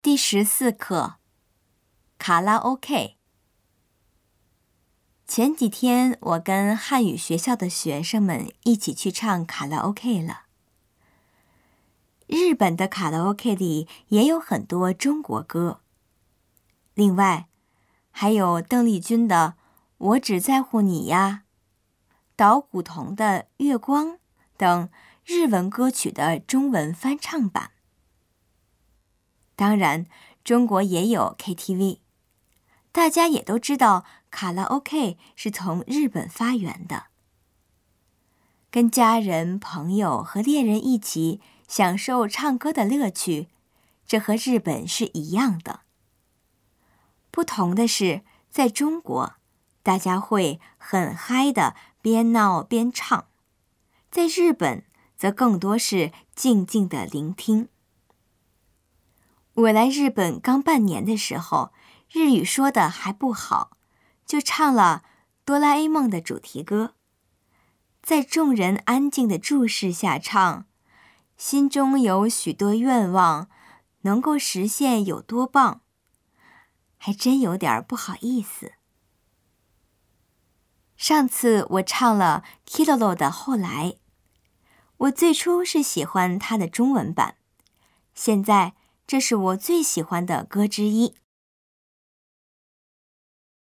第14课，卡拉 OK。前几天我跟汉语学校的学生们一起去唱卡拉 OK 了。日本的卡拉 OK 里也有很多中国歌，另外还有邓丽君的《我只在乎你呀》，岛谷瞳的《月光》等日文歌曲的中文翻唱版。当然，中国也有 KTV， 大家也都知道卡拉 OK 是从日本发源的。跟家人、朋友和恋人一起享受唱歌的乐趣，这和日本是一样的。不同的是，在中国，大家会很嗨的边闹边唱，在日本则更多是静静的聆听。我来日本刚半年的时候，日语说的还不好，就唱了哆啦 A 梦的主题歌。在众人安静的注视下唱，心中有许多愿望，能够实现有多棒，还真有点不好意思。上次我唱了 Kiroro 的后来，我最初是喜欢它的中文版，现在这是我最喜欢的歌之一。